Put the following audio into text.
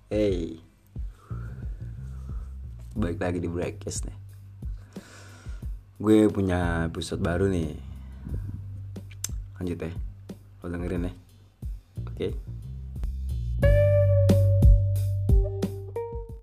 Hey, balik lagi di Breakcast nih. Gue punya episode baru nih. Lanjut ya, lo dengerin ya. Oke.